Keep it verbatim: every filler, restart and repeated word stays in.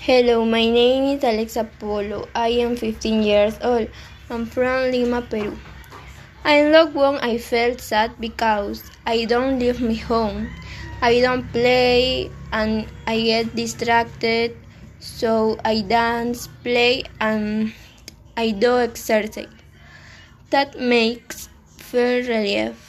Hello, my name is Alexa Polo. I am fifteen years old. I'm from Lima, Peru. In lockdown, I felt sad because I don't leave my home. I don't play and I get distracted, so I dance, play, and I do exercise. That makes feel relief.